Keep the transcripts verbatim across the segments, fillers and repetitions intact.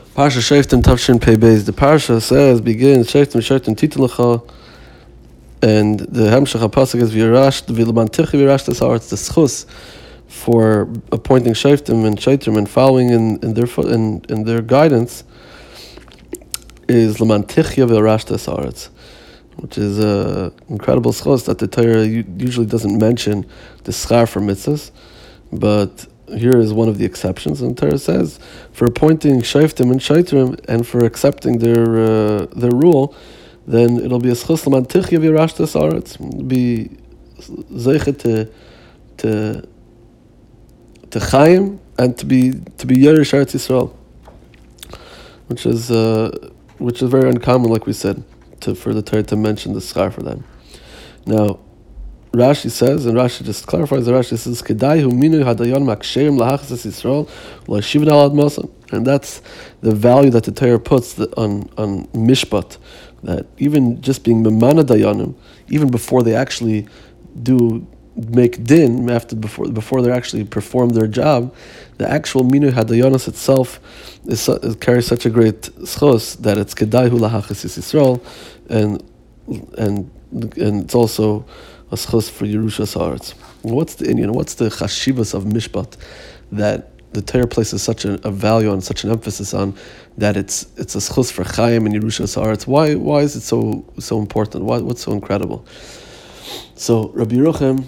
Parsha Shoftim Tavshin Pei Beis. The Parsha says, begins, Shoftim Shoftim Titin Lecha, and the Hemshech HaPasuk is V'yirash, V'lemantichi V'yirash Tesaaretz, the schus for appointing Shoftim and Shoftim and following in, in their in, in their guidance is Lemantichi V'yirash Tesaaretz, which is an incredible schus that the Torah usually doesn't mention the schar for mitzvahs, but here is one of the exceptions, and the Torah says for appointing shoftim and shaitrim and for accepting their uh, their rule, then it'll be a schus l'mantichya v'yirash tesaaretz, be zeichet to to to chayim and to be to be yerush Eretz Yisrael, which is uh, which is very uncommon, like we said, to for the Torah to mention the schar for them. Now, Rashi says, and Rashi just clarifies, the Rashi says, Kedai hu minu hadayon maksherim lahachzas Yisrael l'shivin al admasa. And that's the value that the Torah puts on, on mishpat, that even just being memana dayanim, even before they actually do make din, after before before they actually perform their job, the actual minu hadayonis itself is, is carries such a great schos that it's Kedai hu lahachzas Yisrael, and and and it's also a schus for Yerushas Haaretz. What's the Indian? What's the chashivas of mishpat that the Torah places such a, a value on, such an emphasis on, that it's it's a schus for Chaim and Yerushas Haaretz? Why why is it so so important? Why what's so incredible? So Rabbi Yerucham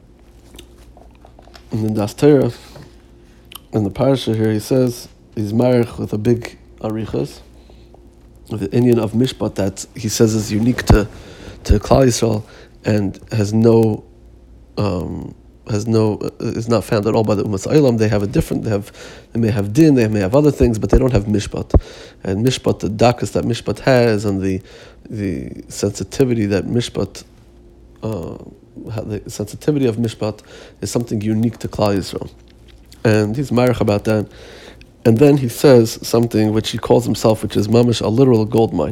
in the Das Torah in the parasha here, he says he's marich with a big arichas with the Indian of mishpat that he says is unique to to Klal Yisrael, and has no, um, has no, uh, is not found at all by the Umas Eilam. They have a different, they have, they may have din, they may have other things, but they don't have mishpat. And mishpat, the dakas that mishpat has, and the the sensitivity that mishpat, uh, the sensitivity of mishpat is something unique to Klal Yisrael. And he's marich about that. And then he says something which he calls himself, which is mamish, a literal gold mine.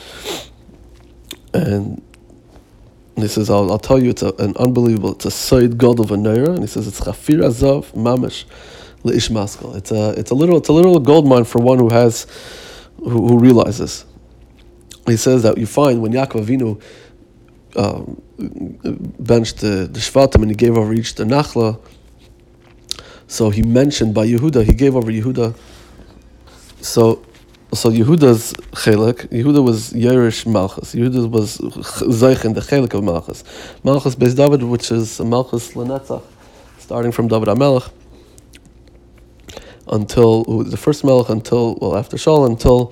And And he says, I'll, I'll tell you, it's a, an unbelievable, it's a Sayyid God of a Neira, and he says, it's Chafir Azav Mamish Le'ish Maskal. It's a, it's a little, it's a little gold mine for one who has, who, who realizes. He says that you find when Yaakov Avinu um, benched the, the Shvatim and he gave over each the Nachla, so he mentioned by Yehuda, he gave over Yehuda, so So Yehuda's chelik, Yehuda was Yerush Malchus. Yehuda was Zeich in the chelik of Malchus. Malchus Beis David, which is Malchus Lenetzach, starting from David HaMelech until the first Melech, until well after Shaul, until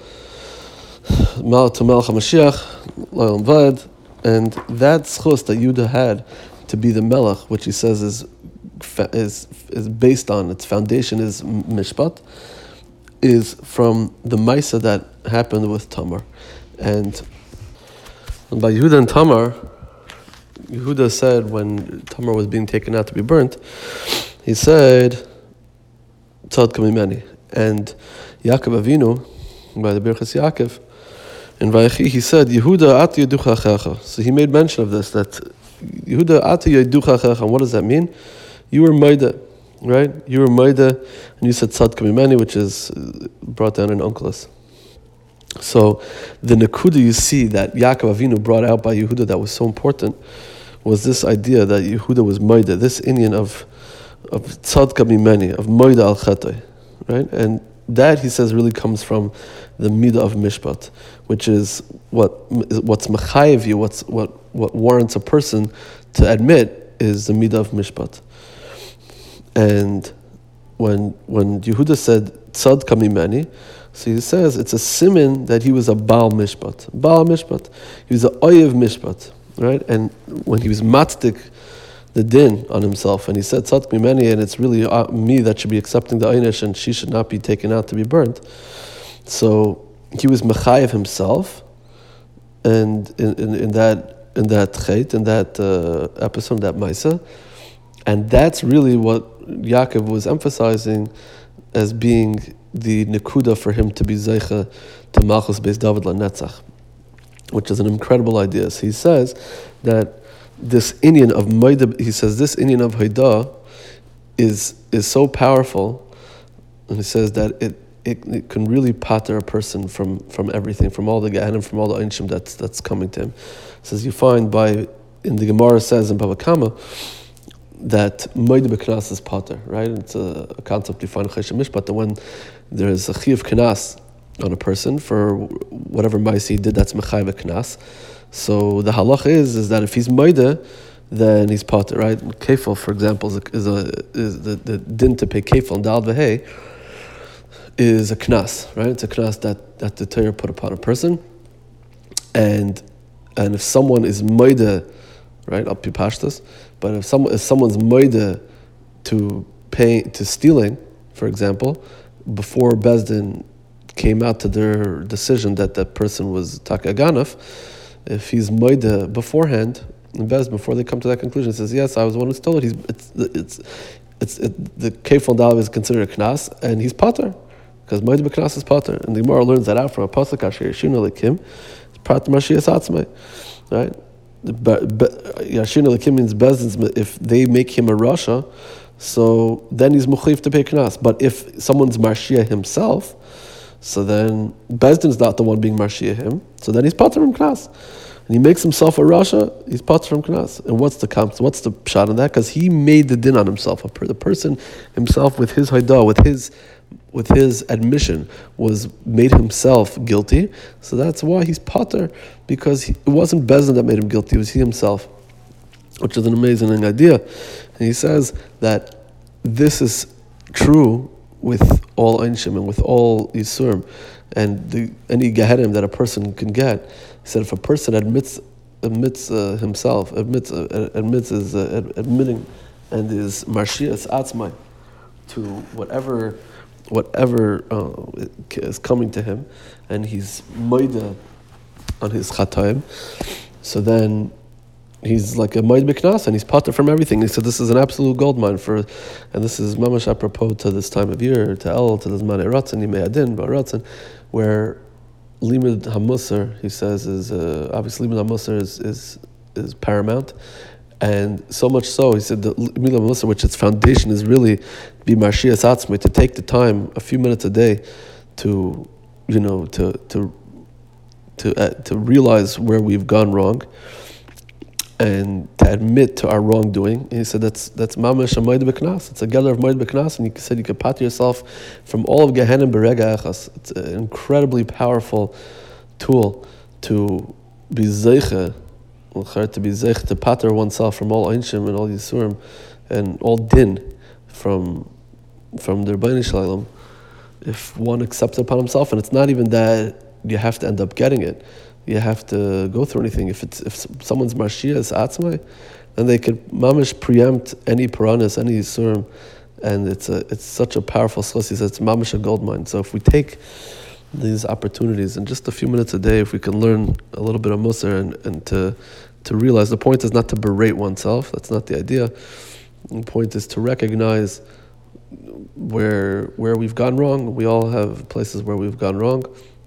Mal to Melech HaMashiach, L'olam Vaed, and that schus that Yehuda had to be the Melech, which he says is is is based on, its foundation is Mishpat, is from the Maisa that happened with Tamar. And, and by Yehuda and Tamar, Yehuda said when Tamar was being taken out to be burnt, he said, Tzad Kamimeni. And Yaakov Avinu, by the Birchas Yaakov, in Vayechi, he said, Yehuda ati yeducha achecha. So he made mention of this, that Yehuda ati yeducha achecha. And what does that mean? You were Maida. Right? You were Maida, and you said Tzad Kamimeni, which is brought down in Onkelos. So the Nakuda you see that Yaakov Avinu brought out by Yehuda that was so important was this idea that Yehuda was Maida, this Indian of of Tzad Kamimeni, of Maida al Chetay, right? And that, he says, really comes from the Midah of Mishpat, which is what what's Mechayev you, what's what what warrants a person to admit is the Midah of Mishpat. And when when Yehuda said Tzad Kamimeni, so he says it's a siman that he was a Baal Mishpat. Baal Mishpat. He was a Oyev Mishpat, right? And when he was matzik the din on himself, and he said Tzad Kamimeni, and it's really uh, me that should be accepting the Einish, and she should not be taken out to be burnt. So he was Mechayev himself, and in, in, in that in that chait, in that uh, episode, that Maisa. And that's really what Yaakov was emphasizing as being the nekuda for him to be zeicha to Malchus Beis David Lanetzach, which is an incredible idea. So he says that this Inyan of Maida, he says this Inyan of Haida is is so powerful, and he says that it it, it can really pater a person from, from everything, from all the Gehenim, from all the Einshim that's that's coming to him. It says you find by in the Gemara says in Bava Kama that Moed B'Knas is pater, right? It's a, a concept you find in Chesed Mishpat, that when there is a Chiyuv Knas on a person for whatever ma'ase he did, that's Mechayev Knas. So the halach is is that if he's Moed, then he's pater, right? Kefil, for example, is a, is, a, is the, the din to pay kefil and dal v'hei is a knas, right? It's a knas that, that the Torah put upon a person, and and if someone is moide, right, up pashtas, but if someone if someone's moide to pay to stealing, for example, before Bezdin came out to their decision that that person was takaganaf, if he's moide beforehand. In Bez, before they come to that conclusion, it says, yes, I was the one who stole it. He's, it's, it's, it's, it, the Kefal Dal is considered a Knas, and he's Pater, because Moed B'Knas is Pater. And the Gemara learns that out from a Pasuk, Asher Yashinu Lekim, Pater Mashiach Atzmai, right? Yashinu Lekim means Bezdin's, if they make him a Rasha, so then he's Mukhif to pay Knas. But if someone's Mashiach himself, so then Bezdin's not the one being Mashiach him, so then he's Pater from Knas. And he makes himself a Rasha, he's pater from Knas. And what's the what's the shot in that? Because he made the din on himself. The person himself, with his haidah, with his with his admission, was made himself guilty. So that's why he's pater, because he, it wasn't Bezdin that made him guilty, it was he himself, which is an amazing idea. And he says that this is true with all Einshim and with all Yisurim, and the, any Gehenim that a person can get. He said if a person admits admits uh, himself, admits uh, admits is uh, admitting, and is Marshias Atzmai to whatever whatever uh, is coming to him, and he's Moida on his Chataim, so then he's like a Moed B'Knas, and he's pater from everything. He said this is an absolute goldmine for, and this is mamash apropos to this time of year, to El, to the Zman Ratzon, Yimei Adin, Ba'Ratzon, where Limud HaMusar, he says, is uh, obviously Limud HaMusar is, is is paramount, and so much so, he said that Limud HaMusar, which its foundation is really be Marshias Atzmai, to take the time, a few minutes a day, to you know to to to uh, to realize where we've gone wrong, and to admit to our wrongdoing. And he said that's that's mamash a Moed B'Knas. It's a gather of Moed B'Knas, and he said you could pater yourself from all of Gehenim Berega Echas. It's an incredibly powerful tool to be zeiche, to be zeiche, to pater oneself from all Einshim and all Yisurim and all din from from their Bnei Shalom, if one accepts it upon himself. And it's not even that you have to end up getting it. You have to go through anything. If it's if someone's Mashiach is Atzmai, then they could mamish preempt any Puranas, any Yisurim, and it's a it's such a powerful source. He says it's mamish a gold mine. So if we take these opportunities and just a few minutes a day, if we can learn a little bit of Musar and, and to to realize, the point is not to berate oneself. That's not the idea. The point is to recognize where where we've gone wrong. We all have places where we've gone wrong,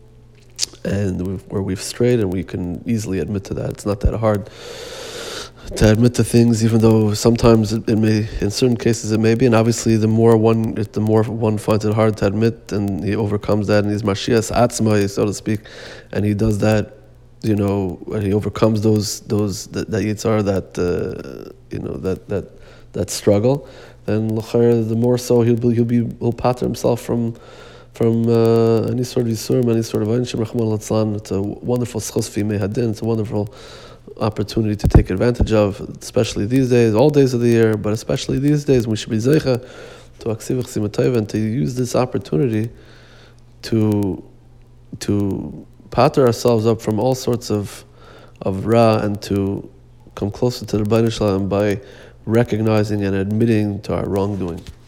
and we've, where we've strayed, and we can easily admit to that. It's not that hard to admit to things, even though sometimes it, it may, in certain cases it may be, and obviously the more one, the more one finds it hard to admit, and he overcomes that, and he's Mashiach Atzmai, so to speak, and he does that, you know, and he overcomes those, those, that, that yitzhar, that, uh, you know, that, that, that struggle, then the more so he'll be, he'll be, he'll pater himself from, from uh, any sort of Yisurim, any sort of Einshim, Rachman Latzlan. It's a wonderful schos f'yimei hadin. It's a wonderful opportunity to take advantage of, especially these days, all days of the year, but especially these days, we should be zeicha to aksivach simatayv, and to use this opportunity to to pater ourselves up from all sorts of of ra, and to come closer to the Bnei Shalom by recognizing and admitting to our wrongdoing.